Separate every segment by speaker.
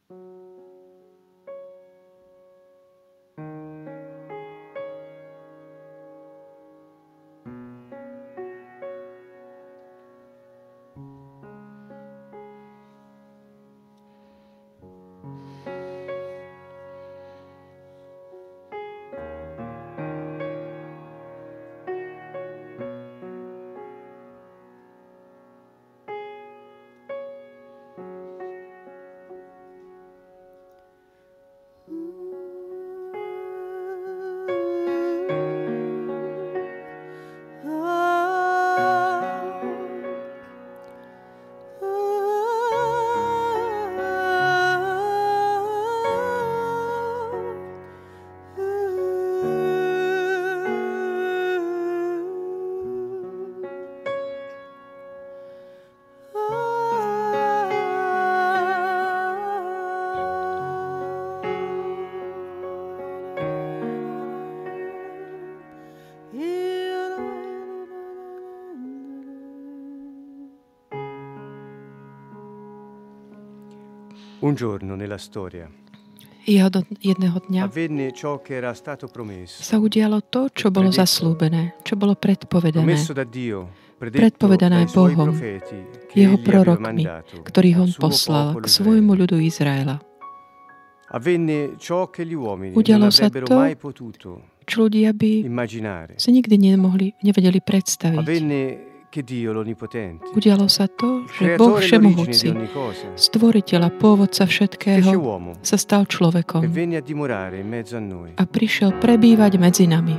Speaker 1: Un giorno nella storia
Speaker 2: jedného dňa
Speaker 1: avvenne ciò che era stato promesso,
Speaker 2: sa udialo to, čo bolo zaslúbené, čo bolo predpovedané.
Speaker 1: promesso da Dio,
Speaker 2: Predpovedané
Speaker 1: dai suoi
Speaker 2: Bohom,
Speaker 1: profeti, che
Speaker 2: jeho
Speaker 1: egli aveva
Speaker 2: prorokmi,
Speaker 1: mandato
Speaker 2: ktorých
Speaker 1: al
Speaker 2: on
Speaker 1: suo
Speaker 2: poslal
Speaker 1: popolo
Speaker 2: k svojmu ľudu Izraela.
Speaker 1: Avvenne ciò che gli uomini
Speaker 2: Udialo
Speaker 1: non
Speaker 2: sa
Speaker 1: avrebbero
Speaker 2: to,
Speaker 1: mai potuto
Speaker 2: čo ľudia by
Speaker 1: immaginare.
Speaker 2: si nikdy nevedeli predstaviť.
Speaker 1: Avvenne che Dio l'Onnipotente,
Speaker 2: Udialo sa to, že Boh
Speaker 1: creatore e l'origine di
Speaker 2: Všemohúci,
Speaker 1: ogni cosa,
Speaker 2: stvoriteľ a pôvodca
Speaker 1: fece
Speaker 2: všetkého,
Speaker 1: uomo
Speaker 2: sa stal
Speaker 1: e
Speaker 2: človekom
Speaker 1: venne a dimorare in mezzo a noi.
Speaker 2: a prišiel prebývať medzi nami.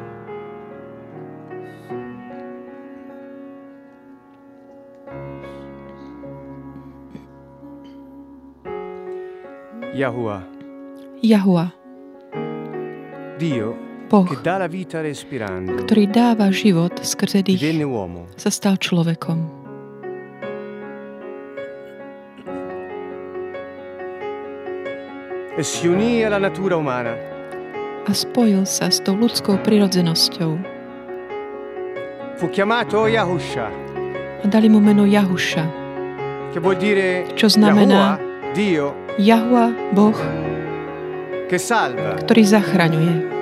Speaker 2: Jahua,
Speaker 1: Dio
Speaker 2: Boh,
Speaker 1: che dà la vita respirando,
Speaker 2: ktorý dáva život skrze
Speaker 1: divenne
Speaker 2: dých,
Speaker 1: uomo.
Speaker 2: sa stal človekom.
Speaker 1: E si unì alla natura umana.
Speaker 2: A spojil sa s tou ľudskou prirodzenosťou.
Speaker 1: Fu chiamato Yahusha,
Speaker 2: A dali mu meno Jahuša,
Speaker 1: che vuol dire
Speaker 2: čo znamená
Speaker 1: Yahuwah, Dio
Speaker 2: Jahua, Boh,
Speaker 1: che salva.
Speaker 2: ktorý zachraňuje.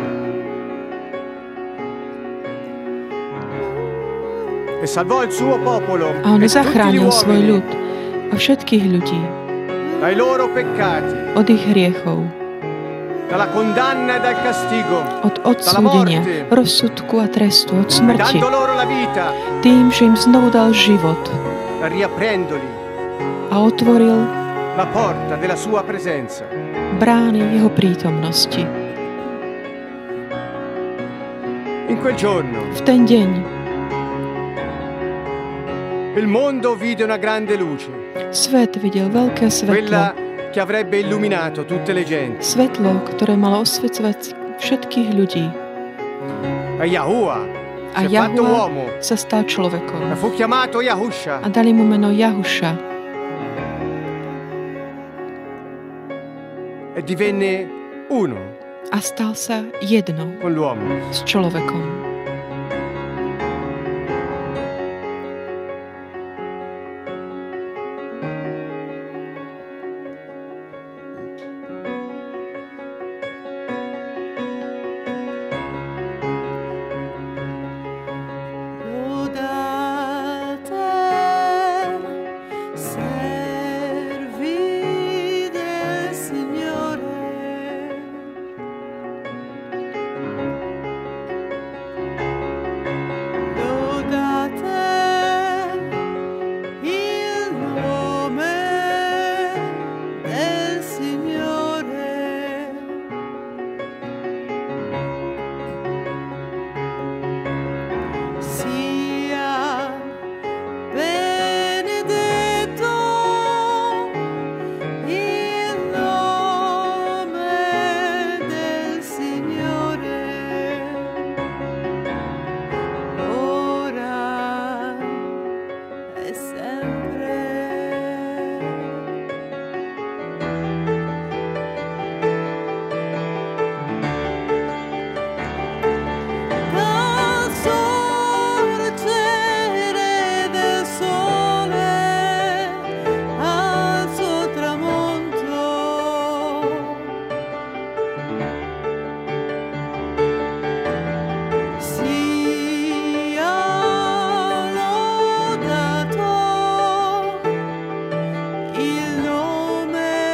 Speaker 1: E salvò il suo popolo
Speaker 2: A on
Speaker 1: e tutti gli
Speaker 2: zachránil svoj
Speaker 1: uomini
Speaker 2: ľud a všetkých ľudí
Speaker 1: dai loro peccati,
Speaker 2: od ich hriechov,
Speaker 1: dalla condanna e dal castigo,
Speaker 2: od odsúdenia, rozsudku a trestu, od smrti,
Speaker 1: dando loro la vita,
Speaker 2: tým, že im znovu dal život
Speaker 1: riaprendoli
Speaker 2: a otvoril
Speaker 1: la porta della sua presenza.
Speaker 2: brány jeho prítomnosti.
Speaker 1: In quel giorno
Speaker 2: V ten deň
Speaker 1: il mondo vide una grande luce,
Speaker 2: svet videl veľké
Speaker 1: quella
Speaker 2: svetlo,
Speaker 1: che avrebbe illuminato tutte le genti.
Speaker 2: svetlo, ktoré malo osvecovať všetkých ľudí.
Speaker 1: E Yahuwah
Speaker 2: A
Speaker 1: si è fatto
Speaker 2: Jahua
Speaker 1: uomo
Speaker 2: sa stal
Speaker 1: e
Speaker 2: človekom
Speaker 1: fu chiamato Yahusha.
Speaker 2: a dali mu meno Jahuša
Speaker 1: E divenne uno
Speaker 2: a stal sa jedno
Speaker 1: con l'uomo.
Speaker 2: s človekom.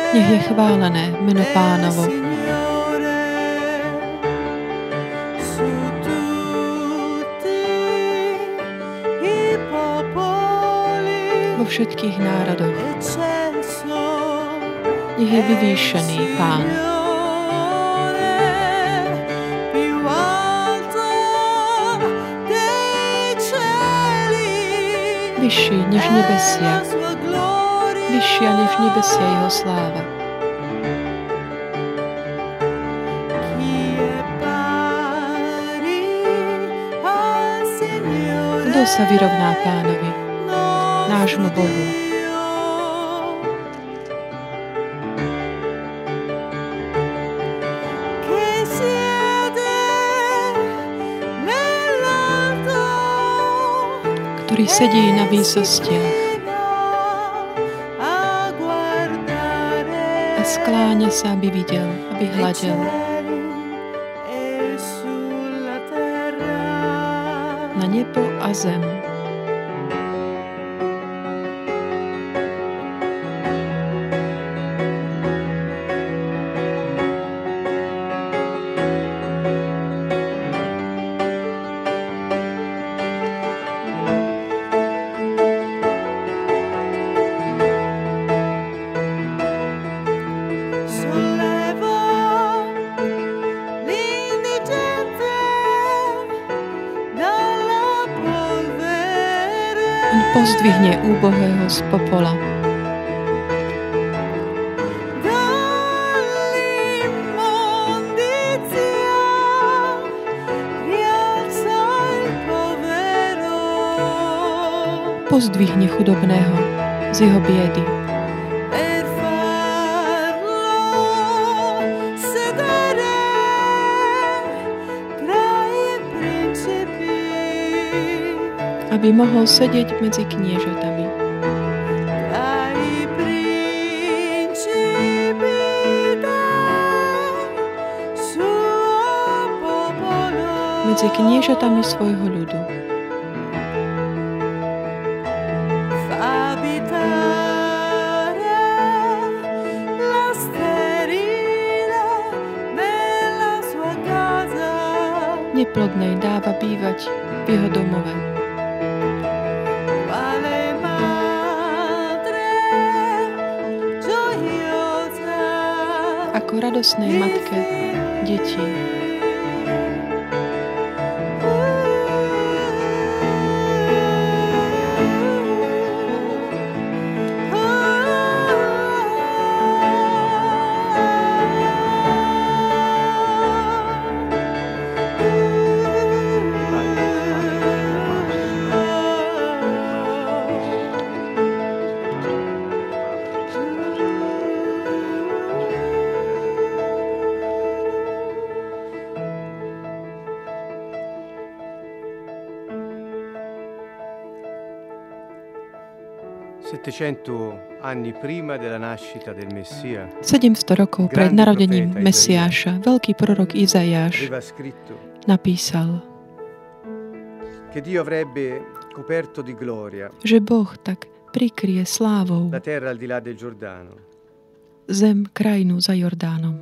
Speaker 2: Nech je chválené meno Pánovo. Vo všetkých národoch. Nech je vyvýšený Pán. Vyšší než nebesia. Vyššia než nebesia jeho sláva. Kto sa vyrovná Pánovi, nášmu Bohu? Ktorý sedí na výsostiach a skláňa sa, aby videl, aby hľadel na nebo a zem. Pozdvihne úbohého z popola. Pozdvihne chudobného z jeho biedy. Aby mohol sedieť medzi kniežatami. Medzi kniežatami svojho ľudu. Neplodnej dáva bývať v jeho domove. Ako radosnej matke detí.
Speaker 1: Anni prima della nascita del Messia,
Speaker 2: 700 rokov pred narodením Mesiáša veľký prorok Izaiáš napísal, že Boh tak prikrie slávou zem, krajinu za Jordánom.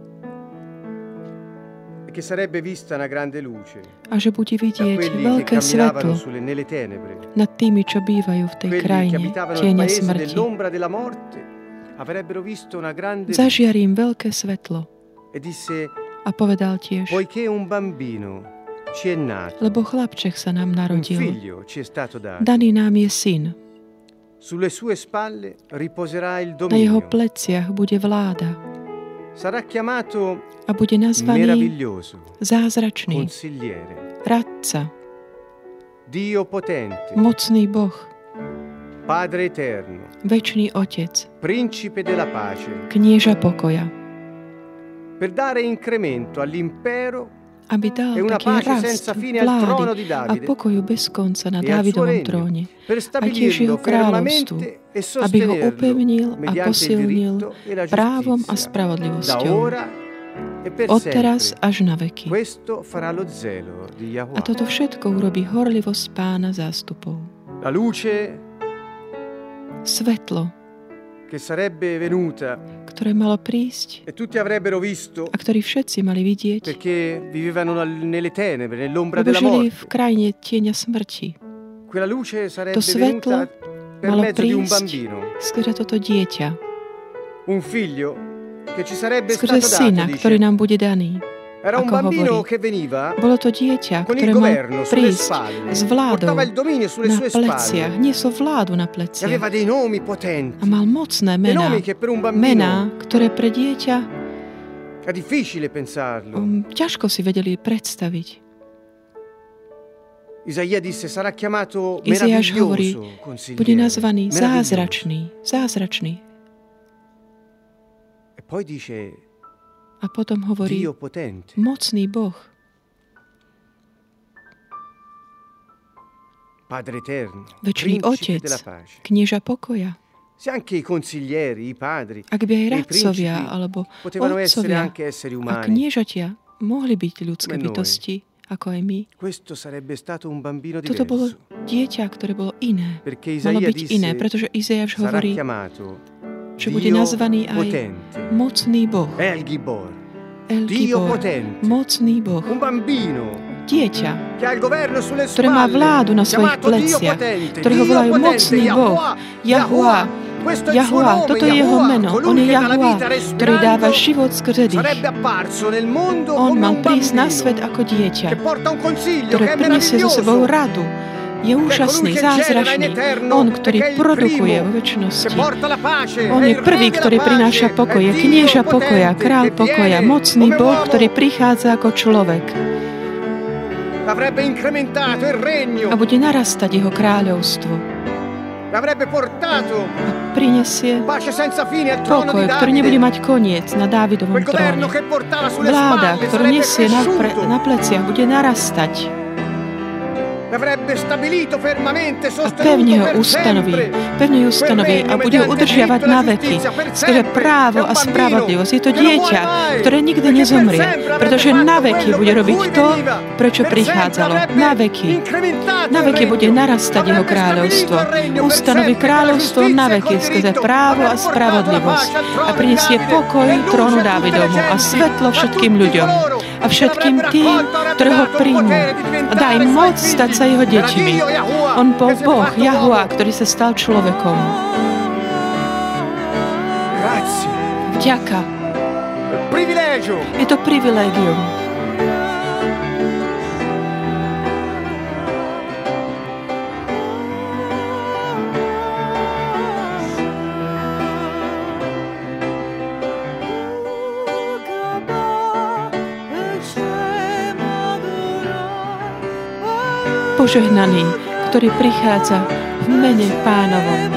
Speaker 2: A že bude vidieť veľké svetlo nad tými, čo bývajú v tej krajine tieňa smrti. Zažiarím veľké svetlo. A povedal tiež, lebo chlapček sa nám narodil, daný nám je syn. Na jeho pleciach bude vláda. A bude nazvaný Zázračný, Radca, Mocný Boh, Večný Otec, Knieža pokoja. Aby dal taký rast vlády a pokoju bez konca na Dávidovom tróne a tiež jeho kráľovstvu, aby ho upevnil a posilnil právom a spravodlivosťou od teraz až na veky. A toto všetko urobí horlivosť Pána zástupov. Svetlo
Speaker 1: che sarebbe venuta
Speaker 2: ktoré malo prísť
Speaker 1: e tutti avrebbero visto
Speaker 2: a ktorý všetci mali vidieť,
Speaker 1: perché vivevano nelle tenebre, nell'ombra
Speaker 2: lebo
Speaker 1: della
Speaker 2: žili
Speaker 1: morte.
Speaker 2: v krajine tieňa smrti.
Speaker 1: Quella luce sarebbe
Speaker 2: To svetlo
Speaker 1: venuta per
Speaker 2: malo
Speaker 1: mezzo di un
Speaker 2: prísť
Speaker 1: bambino,
Speaker 2: skrze toto dieťa,
Speaker 1: un figlio che ci sarebbe
Speaker 2: skrze
Speaker 1: stato
Speaker 2: syna,
Speaker 1: dato,
Speaker 2: ktorý
Speaker 1: dice.
Speaker 2: nám bude daný.
Speaker 1: Era un
Speaker 2: Ako
Speaker 1: bambino
Speaker 2: hovorí,
Speaker 1: che veniva
Speaker 2: bolo to dieťa,
Speaker 1: con
Speaker 2: ktoré
Speaker 1: il
Speaker 2: mal
Speaker 1: governo sulle
Speaker 2: prísť
Speaker 1: spalle,
Speaker 2: s vládou
Speaker 1: portava il dominio sulle
Speaker 2: na
Speaker 1: sue
Speaker 2: pleciach,
Speaker 1: spalle
Speaker 2: niesol vládu na
Speaker 1: e
Speaker 2: pleciach
Speaker 1: aveva dei nomi potenti,
Speaker 2: a mal mocné
Speaker 1: dei
Speaker 2: mená.
Speaker 1: nomi che per un bambino
Speaker 2: Mená, ktoré pre dieťa
Speaker 1: è difficile pensarlo.
Speaker 2: ťažko si vedeli predstaviť.
Speaker 1: Isaia disse sarà chiamato
Speaker 2: Izajáš hovorí,
Speaker 1: meraviglioso,
Speaker 2: bude
Speaker 1: consigliere,
Speaker 2: nazvaný
Speaker 1: meraviglioso.
Speaker 2: zázračný.
Speaker 1: E poi dice
Speaker 2: A potom hovorí,
Speaker 1: Dio potente.
Speaker 2: mocný Boh,
Speaker 1: Padre eterno,
Speaker 2: večný
Speaker 1: principe
Speaker 2: Otec,
Speaker 1: della pace.
Speaker 2: knieža pokoja.
Speaker 1: Se anche i consiglieri, i padri,
Speaker 2: Ak by aj
Speaker 1: e i
Speaker 2: radcovia,
Speaker 1: principi
Speaker 2: alebo
Speaker 1: potevano essere
Speaker 2: otcovia
Speaker 1: anche esseri
Speaker 2: a
Speaker 1: umani,
Speaker 2: kniežatia mohli byť ľudské
Speaker 1: Come noi.
Speaker 2: bytosti, ako aj my.
Speaker 1: questo sarebbe stato un bambino
Speaker 2: Toto bolo
Speaker 1: diverso,
Speaker 2: dieťa, ktoré bolo iné.
Speaker 1: perché
Speaker 2: Malo
Speaker 1: Isaia
Speaker 2: byť iné,
Speaker 1: disse
Speaker 2: pretože Izajáš
Speaker 1: sarà
Speaker 2: hovorí,
Speaker 1: chiamato
Speaker 2: že bude
Speaker 1: Dio
Speaker 2: nazvaný aj
Speaker 1: potente,
Speaker 2: mocný Boh.
Speaker 1: El Gibor,
Speaker 2: El
Speaker 1: Dio
Speaker 2: Gibor,
Speaker 1: potente,
Speaker 2: mocný Boh.
Speaker 1: un bambino
Speaker 2: Dieťa,
Speaker 1: che ha il governo sulle
Speaker 2: ktoré má
Speaker 1: spalle,
Speaker 2: vládu na svojich
Speaker 1: chiamato Dio
Speaker 2: pleciach,
Speaker 1: potente,
Speaker 2: ktorého
Speaker 1: Dio
Speaker 2: volajú
Speaker 1: potente,
Speaker 2: mocný Boh,
Speaker 1: Yahuwah,
Speaker 2: Jahuá,
Speaker 1: questo è il suo
Speaker 2: Jahuá,
Speaker 1: nome,
Speaker 2: toto je jeho
Speaker 1: Yahuwah,
Speaker 2: meno. On
Speaker 1: colui
Speaker 2: je
Speaker 1: che dà la
Speaker 2: Jahuá,
Speaker 1: vita
Speaker 2: ktorý dáva
Speaker 1: respirando,
Speaker 2: život skrze dých.
Speaker 1: sarebbe apparso nel mondo
Speaker 2: On
Speaker 1: come
Speaker 2: mal
Speaker 1: un
Speaker 2: prísť na
Speaker 1: bambino
Speaker 2: svet ako dieťa,
Speaker 1: che porta un consiglio
Speaker 2: ktoré
Speaker 1: che è
Speaker 2: prinesie so sebou
Speaker 1: meraviglioso,
Speaker 2: radu. Je úžasný, zázračný. On, ktorý produkuje vo
Speaker 1: che
Speaker 2: väčšnosti.
Speaker 1: porta la pace,
Speaker 2: On
Speaker 1: è
Speaker 2: je
Speaker 1: il
Speaker 2: prvý,
Speaker 1: re della
Speaker 2: ktorý
Speaker 1: pace,
Speaker 2: prináša
Speaker 1: è
Speaker 2: pokoj. Je
Speaker 1: Dio
Speaker 2: knieža pokoja,
Speaker 1: potente
Speaker 2: kráľ
Speaker 1: che
Speaker 2: pokoja,
Speaker 1: viene
Speaker 2: mocný
Speaker 1: come
Speaker 2: Boh,
Speaker 1: uomo.
Speaker 2: ktorý prichádza ako človek
Speaker 1: Avrebbe incrementato il regno,
Speaker 2: a bude narastať jeho kráľovstvo.
Speaker 1: avrebbe portato
Speaker 2: A prinesie
Speaker 1: pace senza fine al trono
Speaker 2: pokoj,
Speaker 1: di
Speaker 2: ktorý nebude
Speaker 1: Davide.
Speaker 2: mať koniec na Dávidovom
Speaker 1: Quel governo
Speaker 2: tróne.
Speaker 1: che portava sulle
Speaker 2: Vláda,
Speaker 1: spalle
Speaker 2: ktorú
Speaker 1: sarebbe
Speaker 2: nesie na
Speaker 1: cresciuto,
Speaker 2: pleciach, bude narastať
Speaker 1: avrebbe stabilito fermamente,
Speaker 2: a
Speaker 1: sostenuto
Speaker 2: pevne ho
Speaker 1: per
Speaker 2: ustanoví,
Speaker 1: sempre.
Speaker 2: pevne ju ustanoví a bude ju udržiavať na veky. Skrze právo a spravodlivosť. Je to dieťa, ktoré nikdy nezomrie, pretože na veky bude robiť to, prečo prichádzalo. Na veky. Na veky bude narastať jeho kráľovstvo. Ustanoví kráľovstvo na veky skrze právo a spravodlivosť a prinesie pokoj trónu Dávidomu a svetlo všetkým ľuďom a všetkým tým, ktoré ho príjmu. A dá im moc stať sa jeho deťmi. On bol Boh, Jahuá, ktorý sa stal človekom.
Speaker 1: Grazie.
Speaker 2: Vďaka.
Speaker 1: Privilegio.
Speaker 2: Je to privilégium. Požehnaný, ktorý prichádza v mene Pánovom.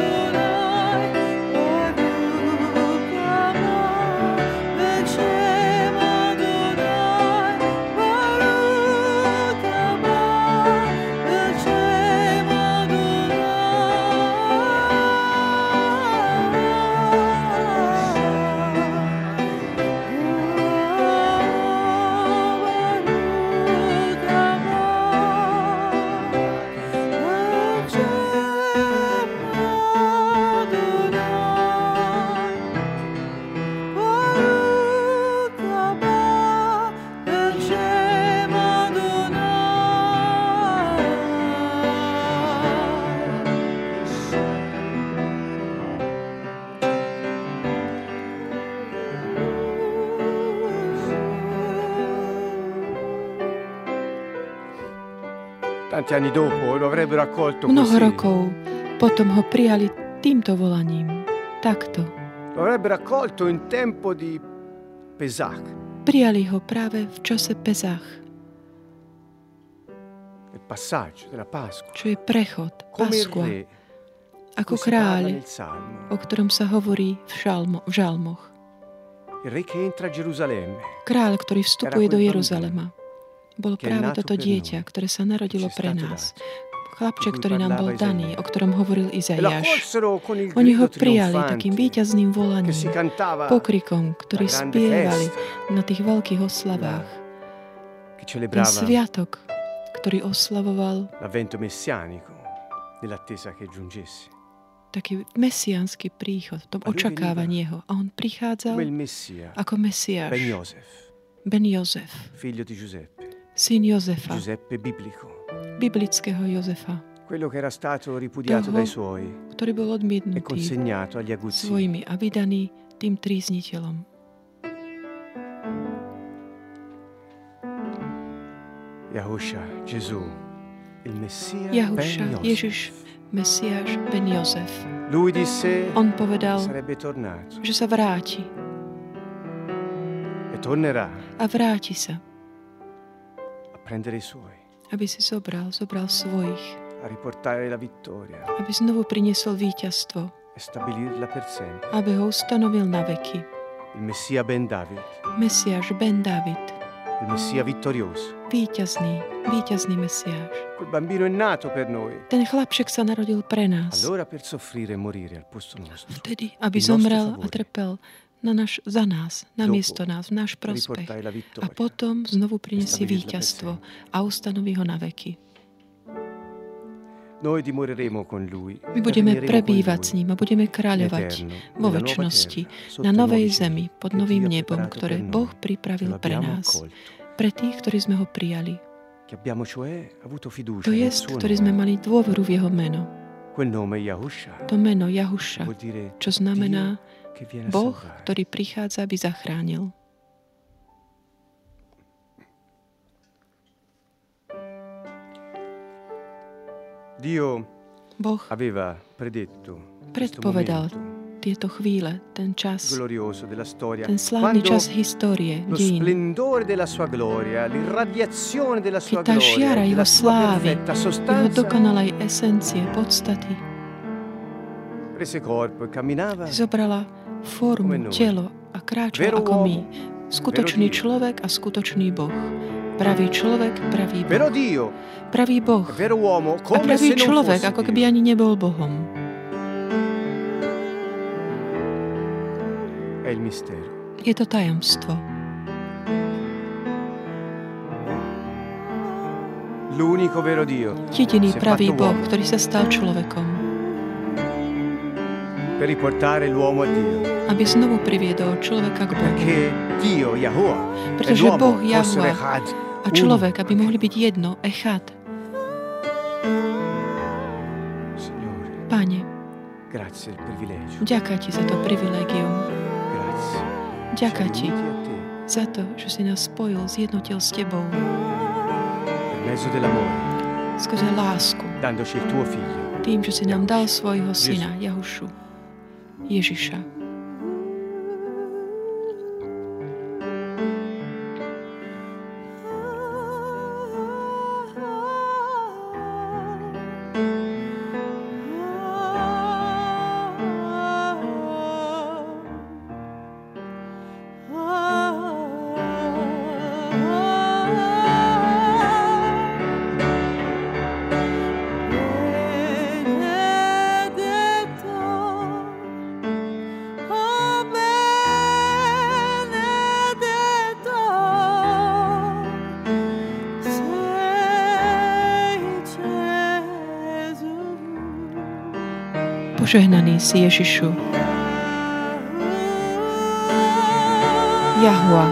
Speaker 1: Tanti anni dopo lo avrebbero accolto
Speaker 2: Mnoho
Speaker 1: così.
Speaker 2: rokov potom ho prijali týmto volaním. Takto.
Speaker 1: Lo avrebbero accolto in tempo di Pesach,
Speaker 2: Prijali ho práve v čase Pesach,
Speaker 1: il passaggio della Pasqua,
Speaker 2: čo je prechod,
Speaker 1: come il
Speaker 2: Paskua,
Speaker 1: re
Speaker 2: ako
Speaker 1: cui si parla
Speaker 2: kráľ,
Speaker 1: nel Salmo,
Speaker 2: o ktorom sa hovorí v žalmoch.
Speaker 1: il re che entra a Gerusalemme,
Speaker 2: Kráľ, ktorý vstupuje
Speaker 1: Era
Speaker 2: do
Speaker 1: quel
Speaker 2: Jeruzalema. Bolo
Speaker 1: che è
Speaker 2: práve
Speaker 1: nato
Speaker 2: toto
Speaker 1: per
Speaker 2: dieťa,
Speaker 1: noi,
Speaker 2: ktoré sa narodilo
Speaker 1: che ci è
Speaker 2: pre
Speaker 1: stato
Speaker 2: nás.
Speaker 1: dato,
Speaker 2: Chlapček,
Speaker 1: di cui
Speaker 2: ktorý nám bol
Speaker 1: parlava
Speaker 2: daný,
Speaker 1: Isaia.
Speaker 2: o ktorom hovoril
Speaker 1: E lo
Speaker 2: Izaiáš.
Speaker 1: accolsero con il
Speaker 2: Oni ho
Speaker 1: grido
Speaker 2: prijali
Speaker 1: trionfante
Speaker 2: takým víťazným
Speaker 1: che
Speaker 2: volaním,
Speaker 1: si cantava,
Speaker 2: pokrikom, ktorý
Speaker 1: la grande
Speaker 2: spievali
Speaker 1: festa,
Speaker 2: na tých veľkých oslavách.
Speaker 1: che
Speaker 2: Ten
Speaker 1: celebrava
Speaker 2: sviatok, ktorý oslavoval
Speaker 1: l'avvento messianico nell'attesa che giungesse.
Speaker 2: taký mesiánsky príchod, v tom očakávaní jeho. A on prichádzal ako Mesiáš. Ben Jozef. Syn Jozefa. Biblického Jozefa. Toho, ktorý bol odmietnutý svojimi a vydaný tým trízniteľom. Jahuša, Ježiš, Mesiáš, Ben Jozef. On povedal, že sa vráti. A vráti sa. Aby si zobral svojich. Aby znovu priniesol víťazstvo. Aby ho ustanovil na veky. Mesiáš Ben David. Víťazný Mesiáš. Ten chlapček sa narodil pre nás. Vtedy, aby zomrel a trpel za nás, namiesto nás, v náš prospech. A potom znovu prinesie víťazstvo a ustanoví ho na veky. My budeme prebývať s ním a budeme kráľovať vo večnosti na novej zemi, pod novým nebom, ktoré Boh pripravil pre nás, pre tých, ktorí sme ho prijali. To je, ktorí sme mali dôveru v jeho meno. To meno Jahuša, čo znamená Boh, ktorý prichádza, aby zachránil. Boh predpovedal tieto chvíle, ten čas, ten slávny čas histórie, dejín. Keď tá žiara jeho slávy, jeho dokonalej esencie, podstaty, zobrala formu, telo a kráčal ako my. Skutočný človek a skutočný Boh. Pravý človek, pravý Boh. Pravý Boh a pravý človek, ako keby ani nebol Bohom. Je to tajomstvo. Jediný pravý Boh, ktorý sa stal človekom. Aby znovu priviedol človeka k Bohu. Pretože Boh Jahua a človek, aby mohli byť jedno, echad. Pane, ďakujem Ti za to privilégium. Ďakujem Ti za to, že si nás spojil, zjednotil s Tebou. Skrze lásku. Tým, že si nám dal svojho syna, Jahušu, Ježiša. Požehnaný si Ježišu. Jahua.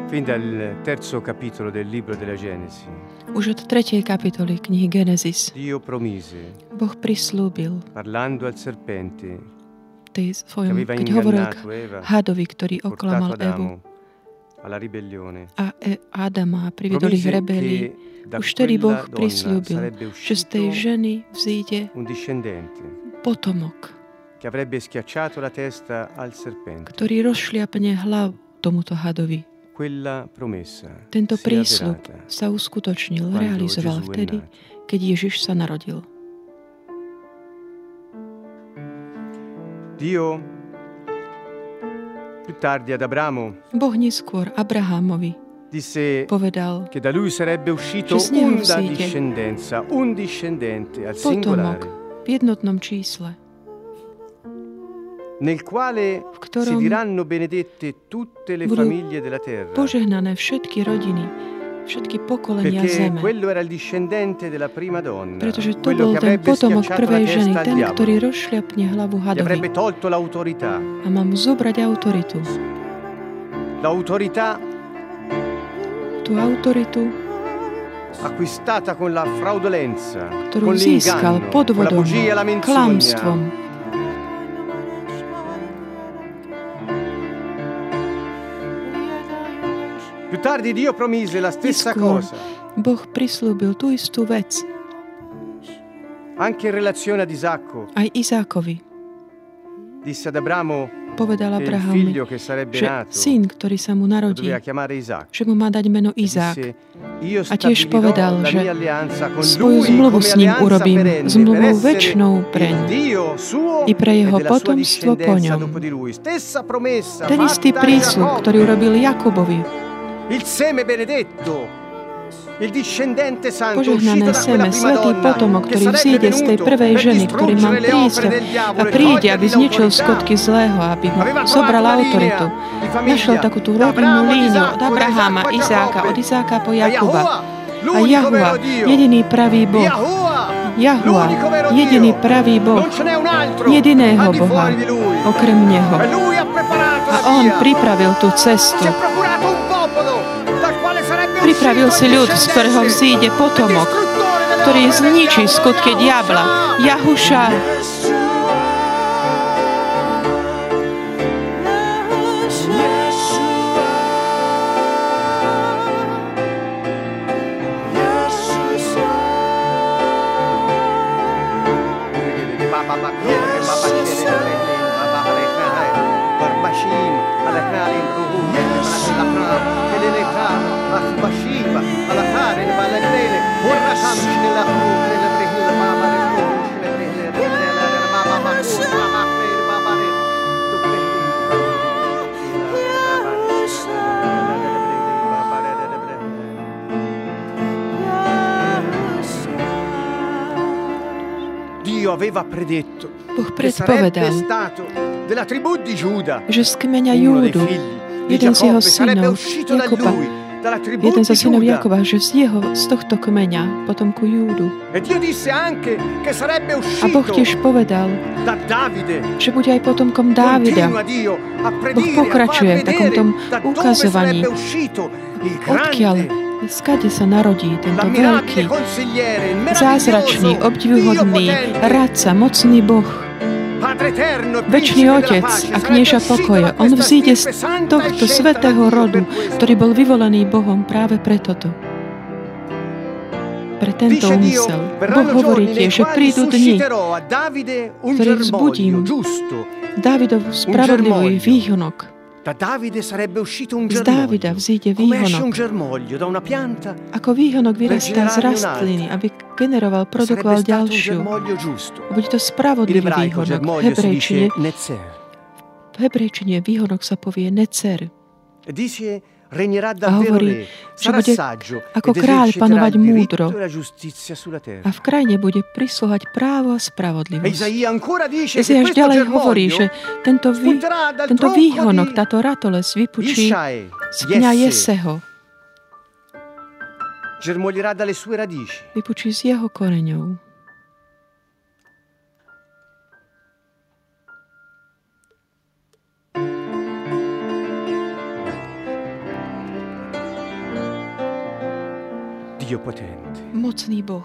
Speaker 1: Fin dal terzo capitolo del libro della Genesi.
Speaker 2: Už od 3. kapitoly knihy Genesis
Speaker 1: Dio promise,
Speaker 2: Boh prislúbil
Speaker 1: parlando al serpente,
Speaker 2: keď hovoril k hadovi, ktorý oklamal Evu
Speaker 1: alla ribellione,
Speaker 2: a Adama priviedol ich rebelii. Už vtedy Boh prislúbil, že z tej ženy vzíde potomok, ktorý rozšliapne hlavu tomuto hadovi. Tento prísľub sa uskutočnil, realizoval vtedy, keď Ježiš sa narodil. Boh neskôr Abrahamovi povedal, že z neho vzíde potomok v jednotnom čísle,
Speaker 1: nel quale si diranno benedette tutte le famiglie della terra.
Speaker 2: Požehnané všetky rodiny, všetky pokolenia zeme.
Speaker 1: Quello era il discendente della prima donna.
Speaker 2: Pretože to bol ten potomok prvej ženy, ten, ktorý rozšľapne hlavu hadovi.
Speaker 1: Avrebbe tolto l'autorità.
Speaker 2: A má mu zobrať autoritu.
Speaker 1: L'autorità.
Speaker 2: Tú autoritu,
Speaker 1: acquistata con la fraudolenza,
Speaker 2: ktorú získal podvodom, klamstvom.
Speaker 1: Più tardi Dio promise la stessa cosa.
Speaker 2: Boh prislúbil tú istú vec.
Speaker 1: Anche in relazione ad Isacco.
Speaker 2: Aj Izákovi.
Speaker 1: Disse ad Abramo,
Speaker 2: povedal Abrahamovi, že syn, ktorý sa mu narodí, že mu má dať meno Izák. A tiež povedal, že svoju zmluvu s ním urobím, zmluvu večnou preň i pre jeho potomstvo po ňom. Ten istý prísľub, ktorý urobil Jakubovi, požehnané seme, svätý potomok, ktorý vzíde z tej prvej ženy, ktorý mal prísť a príde, aby zničil skutky zlého, aby mu zobral autoritu. Našiel takú tú rodinnú líniu od Abraháma, Izáka, od Izáka po Jakuba. A Jahua, jediný pravý Boh. Jahua, jediný pravý Boh. Jediného Boha, okrem Neho. A on pripravil tú cestu. Pripravil si ľud, z ktorého vzíde potomok, ktorý zničí skutky diabla. Jahuša. Boh predpovedal, že z kmeňa Júdu jeden z jeho synov, Jakoba, jeden zo synov Jakoba, že z tohto kmeňa, potomku Júdu. A Boh tiež povedal, že bude aj potomkom Dávida. Boh pokračuje v takom tom ukazovaní, odkiaľ, skade sa narodí tento veľký, zázračný, obdivuhodný, radca, mocný Boh, večný Otec a knieža pokoja. On vzíde z tohto svätého rodu, ktorý bol vyvolený Bohom práve pre toto. Pre tento úmysel. Boh hovorí tiež, že prídu dni, ktoré vzbudím Dávidov spravodlivý výhonok. Z Dávida vzíde výhonok. Ako výhonok vyrastá z rastliny, aby generoval, produkoval ďalšiu. Bude to spravodlivý výhonok. V hebrejčine výhonok sa povie necer. A hovorí, že bude ako kráľ panovať múdro a v krajine bude prisluhovať právo a spravodlivosť. Ezeáš ďalej hovorí, že tento výhonok, táto ratolesť vypučí z pňa Jeseho. Vypučí z jeho koreňov. Mocný Boh.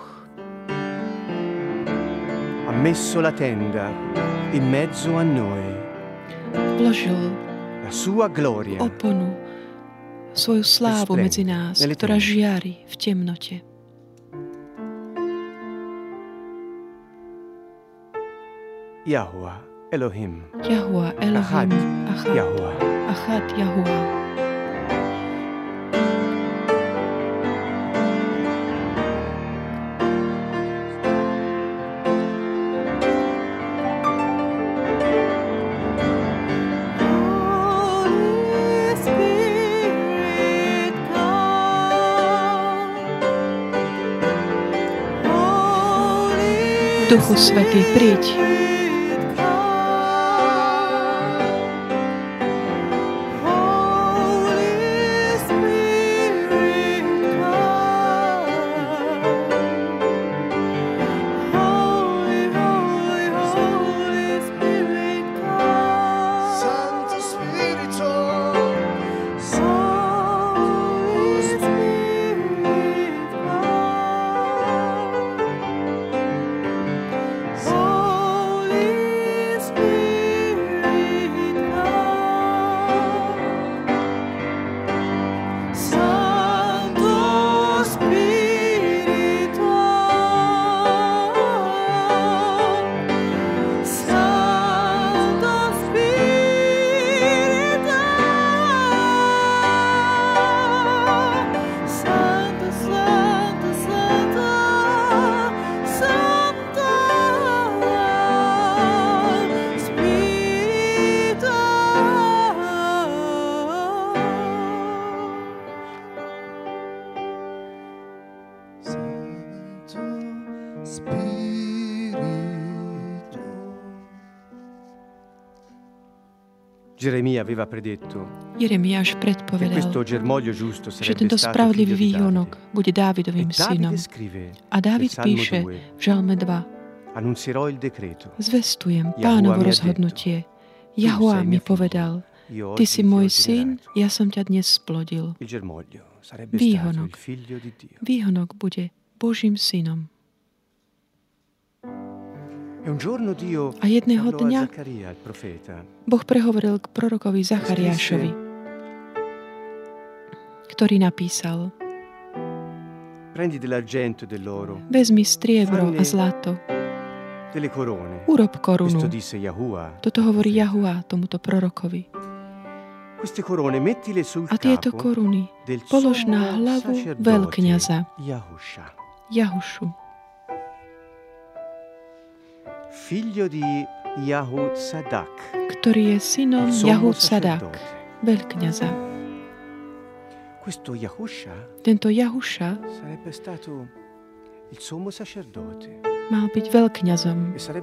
Speaker 1: Ha messo la tenda in mezzo a noi.
Speaker 2: Vložil
Speaker 1: la sua gloria.
Speaker 2: Oponu, svoju slávu medzi nás, ktorá žiari v temnote.
Speaker 1: Yahuwah Elohim.
Speaker 2: Yahuwah Elohim. Achad
Speaker 1: Yahuwah.
Speaker 2: Achad Yahuwah. Duchu Svätý, príď. Jeremiáš predpovedal, že tento spravodlivý výhonok bude Dávidovým synom. A Dávid píše v Žalme 2: Zvestujem Pánovo rozhodnutie. Jahuá mi povedal: Ty si môj syn, ja som ťa dnes splodil. Výhonok bude Božím synom. A jedného dňa Boh prehovoril k prorokovi Zachariášovi, ktorý napísal: Vezmi striebro a zlato, urob korunu. Toto hovorí Jahuá tomuto prorokovi. A tieto koruny polož na hlavu veľkňaza Jahušu, ktorý je synom Jahud-Sadak, veľkňaza. Tento Jahuša mal byť veľkňazom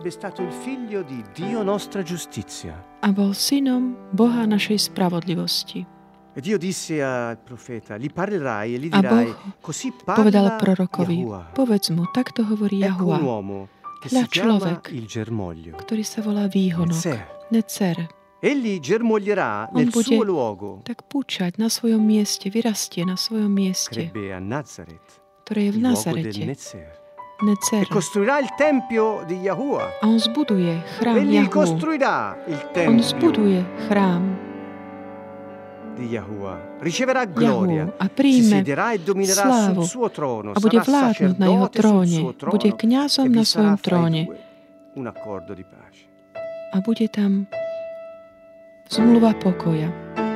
Speaker 2: a bol synom Boha našej spravodlivosti. A Boh povedal prorokovi: Povedz mu, takto hovorí Jahuá. Hľa človek, ktorý sa volá výhonok, Necer. On bude tak púčať na svojom mieste, vyrastie na svojom mieste, ktoré je v Nazarete. Necer. A on zbuduje chrám Jahu. On zbuduje chrám Jahu a príjme slávu a bude vládnuť na jeho tróne. Bude kňazom na svojom tróne. A bude tam zmluva pokoja.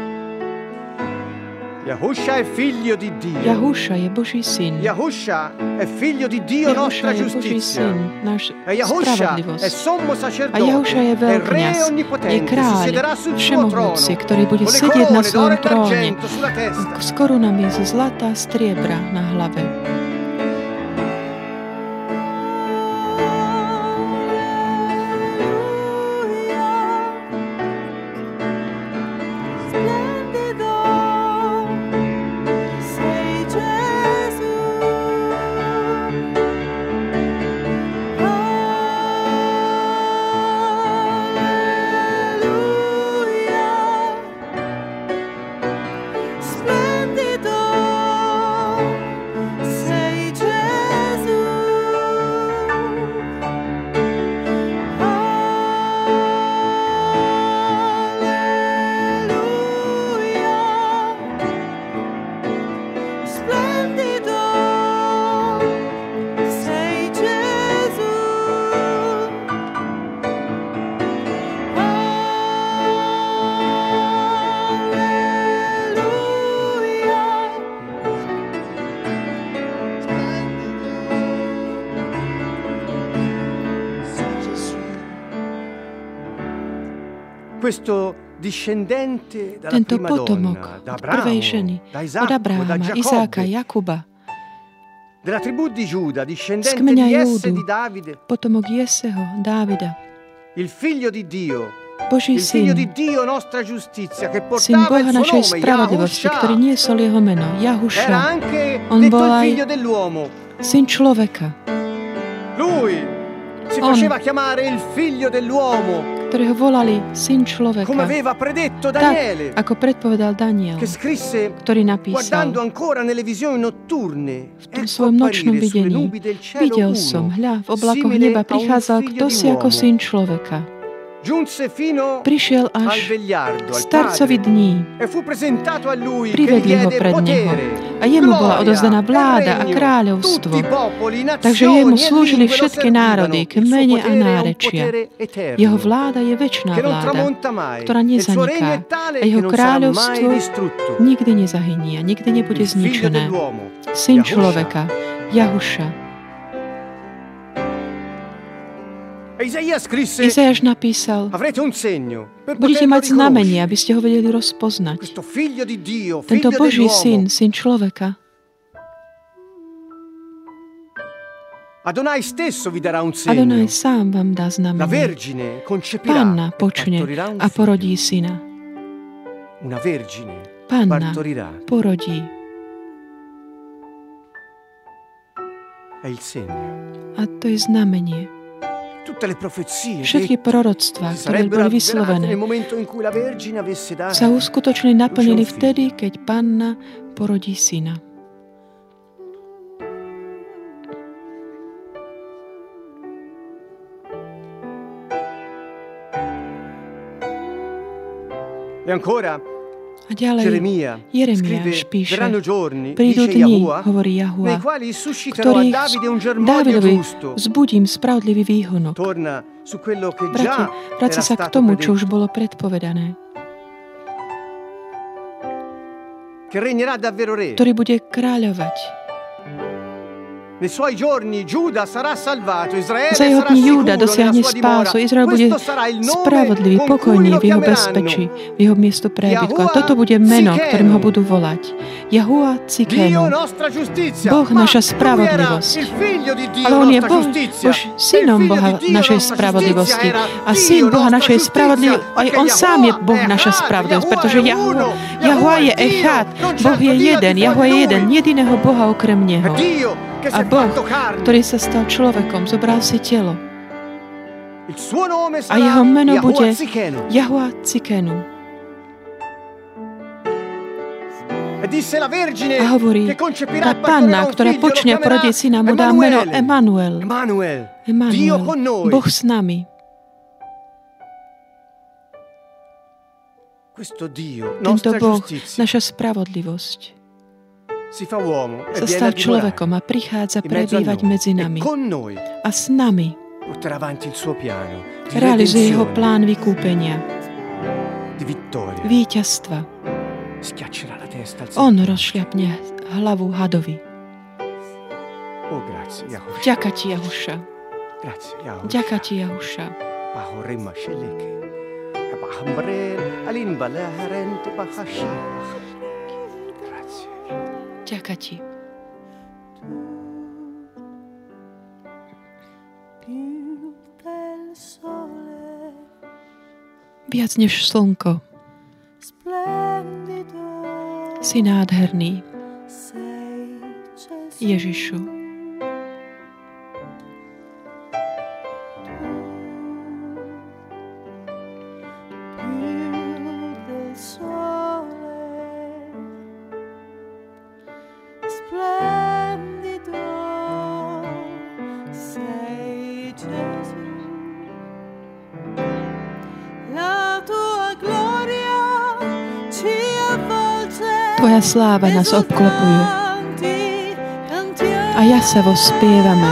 Speaker 1: Yahusha
Speaker 2: je Boží syn.
Speaker 1: Yahusha è figlio di Dio, nostra giustizia.
Speaker 2: Yahusha è sommo sacerdote. A Yahusha je veľkňaz, je kráľ všemohúci, ktorý bude sedieť na svojom tróne s korunami zo zlata a striebra na hlave.
Speaker 3: Splendido,
Speaker 2: tento potomok od prvej ženy, od Abrahama, Izáka, Jakuba, z kmeňa Júdu, potomok Jeseho, Dávida, Boží syn, syn Boha našej spravodlivosti, ktorý niesol jeho meno, Jahuša. On bol aj syn človeka. On, ktorého volali syn človeka, tak, ako predpovedal Daniel, ktorý napísal v tom svojom nočnom videní: videl som, hľa, v oblakoch neba prichádzal kdosi ako syn človeka. Prišiel až starcovi dní. Privedli ho pred neho. A jemu bola odovzdaná vláda a kráľovstvo. Takže jemu slúžili všetky národy, kmene a nárečia. Jeho vláda je večná vláda, ktorá nezaniká. A jeho kráľovstvo nikdy nezahynie, nikdy nebude zničené. Syn človeka, Jahuša. Izajáš napísal: budete mať znamenie, aby ste ho vedeli rozpoznať. Tento Boží syn, syn človeka. Adonaj sám vám dá znamenie. Panna počne a porodí syna. Panna porodí. A to je znamenie. Všetky proroctvá, ktoré boli vyslovené, sa uskutočne naplnili vtedy, keď Panna porodí syna. A ďalej Jeremiáš píše: prídu dni, hovorí Jahua, ktorých Dávidovi vzbudím spravodlivý výhonok. Bratia, vráca sa k tomu, čo už bolo predpovedané. Ktorý bude kráľovať. Za jeho dní Júda dosiahne spásu. Izrael bude spravodlivý, pokojný v jeho bezpečí, v jeho miesto prebytku. A toto bude meno, ktorým ho budú volať: Jahua Tsidkenu, Boh naša spravodlivosť. Ale on je Boh, synom Boha našej spravodlivosti. A syn Boha našej spravodlivosti, aj on sám je Boh naša spravodlivosť, pretože Jahua je Echad, Boh je jeden, Jahua je jeden, jediného Boha okrem neho. A Boh, ktorý sa stal človekom, zobral si telo. A jeho meno bude Jahua Tsidkenu. A hovorí, tá Panna, ktorá počne a porodí syna, mu dá meno Emanuel. Emanuel, Boh s nami. Tento Boh, naša spravodlivosť, sa stal človekom a prichádza prebývať medzi nami. A s nami realizuje jeho plán vykúpenia, víťazstva. On rozšľapne hlavu hadovi. Ďaká ti, Jahuša. Ďaká ti, Jahuša. Ďaká ti. Viac než slnko. Si nádherný, Ježišu. Tvoja sláva nás obklopuje a jasavo spievame.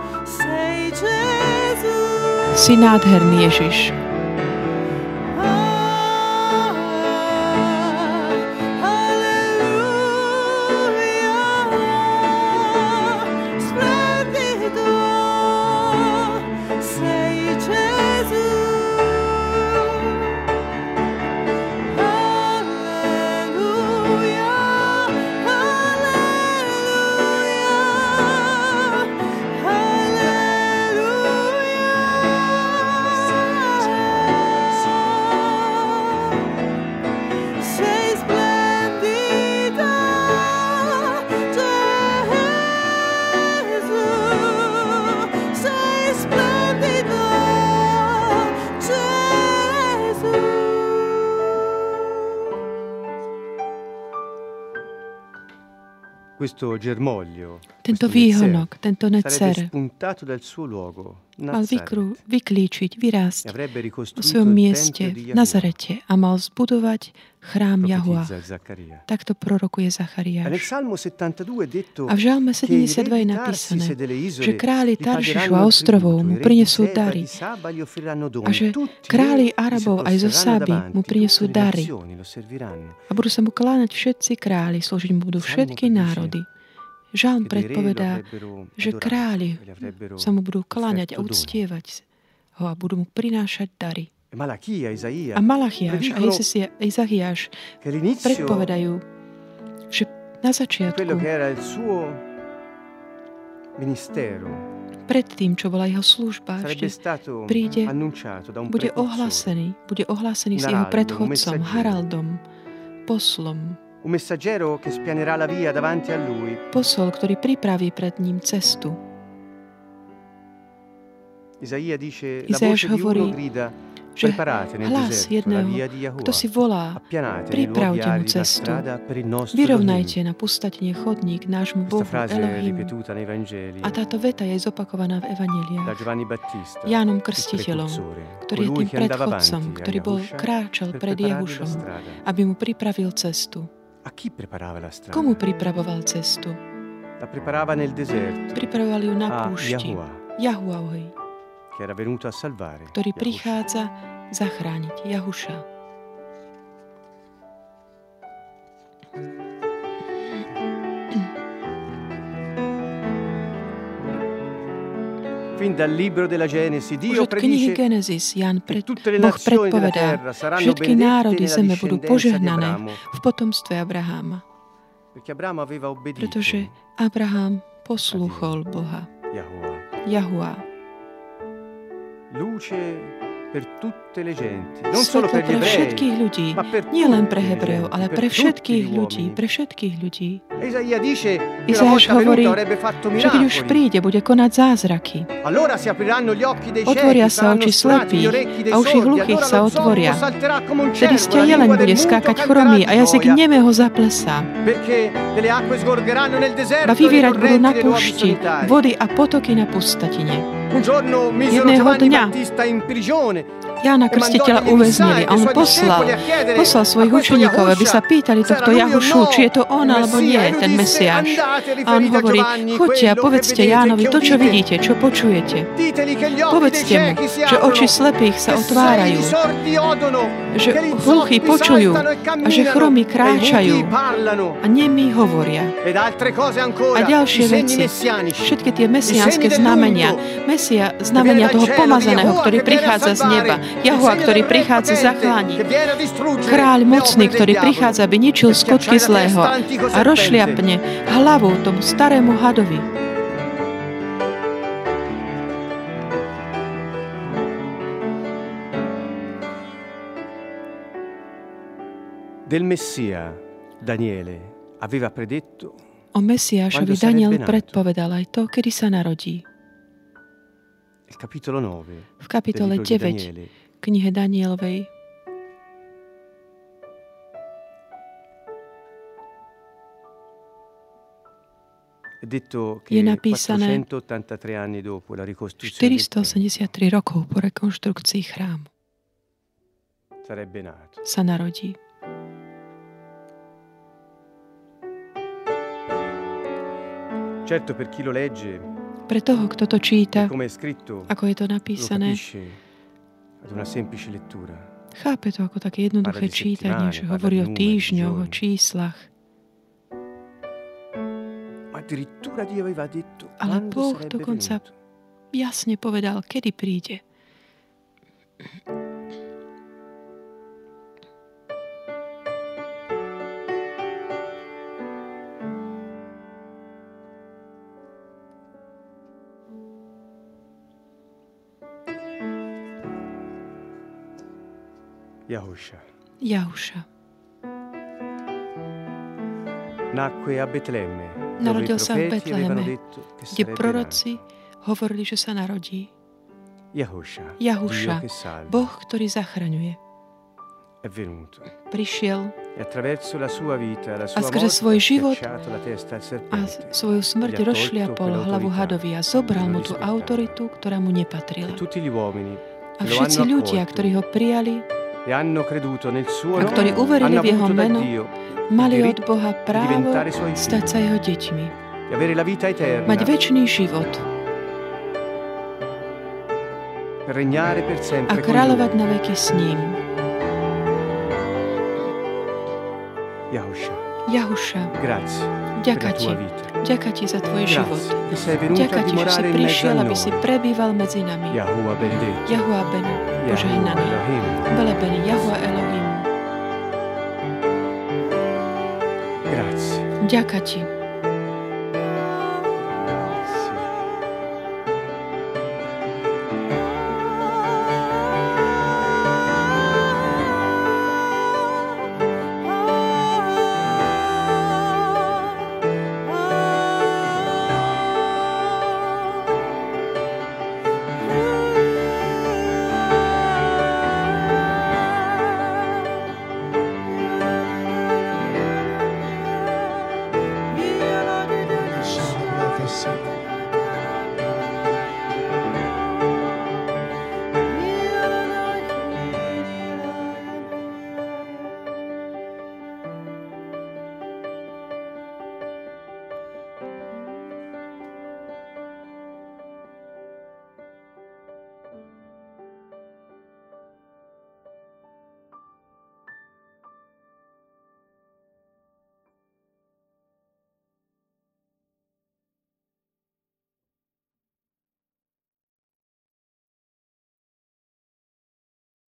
Speaker 2: Si nádherný, Ježiš. tento výhonok, tento necer mal vyklíčiť, vyrásť v svojom mieste v Nazarete a mal zbudovať chrám Jahua. Takto prorokuje Zachariáš. A v Žalme 72 je napísané, že králi Taršišu a ostrovov mu prinesú dary a že králi Arabov aj zo Sáby mu prinesú dary a budú sa mu kláňať všetci králi, slúžiť mu budú všetky národy. Žalm predpovedá, že králi sa mu budú kláňať a uctievať ho a budú mu prinášať dary. A Malachiáš a Izachiáš predpovedajú, že na začiatku pred tým, čo bola jeho služba, ešte príde, bude ohlásený s jeho predchodcom, Haraldom, poslom. Posol, ktorý pripraví pred ním cestu. Izajáš hovorí, že hlas jedného, kto si volá, pripravte mu cestu, vyrovnajte na pustatine chodník nášmu Bohu Elohim. A táto veta je zopakovaná v evanjeliách. Jánom Krstiteľom, ktorý je tým predchodcom, ktorý kráčal pred Jehušom, aby mu pripravil cestu. Komu pripravoval cestu? Pripravoval ju na púšti. Jahuahovi, ktorý prichádza zachrániť Jahuša. Už od knihy Genesis Boh predpovedá, všetky národy zeme budú požehnané v potomstve Abraháma. Pretože Abrahám poslúchol Boha. Jahua. Svetlo pre všetkých ľudí, nie len pre Hebreov, ale pre všetkých ľudí. Izajáš hovorí, že keď už príde, bude konať zázraky. Otvoria sa oči slepých a uši hluchých sa otvoria. Vtedy sťa jeleň bude skákať chromý a jazyk nemého zaplesá. Ba vyvierať budú na púšti vody a potoky na pustatine. Jedného dňa Jána Krstiteľa uväznili a on poslal svojich učeníkov, aby sa pýtali tohto Jahušu, či je to on alebo nie, ten Mesiáš. A on hovorí, choďte a povedzte Jánovi to, čo vidíte, čo počujete. Povedzte mu, že oči slepých sa otvárajú, že hluchí počujú a že chromí kráčajú a nemí hovoria. A ďalšie veci, všetky tie mesiánske znamenia, znamenia toho pomazaného, ktorý prichádza z neba, Jahua, ktorý prichádza zachrániť, kráľ mocný, ktorý prichádza, aby ničil skutky zlého a rozšliapne hlavu tomu starému hadovi.
Speaker 1: Del Messia Daniele aveva predetto
Speaker 2: o Mesiášovi Daniel predpovedal aj to, kedy sa narodí. V kapitole 9 knihe Danielovej je napísané 483 rokov po rekonštrukcii chrámu sa narodí. Pre toho, kto to číta, ako je to napísané, chápe to ako také jednoduché čítanie, že hovorí o týždňoch, o číslach. Ale Boh dokonca jasne povedal, kedy príde. Jahuša. Narodil sa v Betleheme, kde proroci hovorili, že sa narodí. Jahuša, Boh, ktorý zachraňuje. Prišiel A skrze svoj život a svoju smrť rozšliapol hlavu hadovi a zobral mu tú autoritu, ktorá mu nepatrila. A všetci ľudia, ktorí ho prijali a ktorí uverili v jeho meno, mali od Boha právo stať sa jeho deťmi. Mať večný život a kráľovať na veky s ním. Jahuša, ďaká ti. Ďaká ti za tvoj život. Ďaká ti, že si prišiel, aby si prebýval medzi nami. Jahua ben, požehnaný. Velebený Jahua Elohim. Ďaká ti.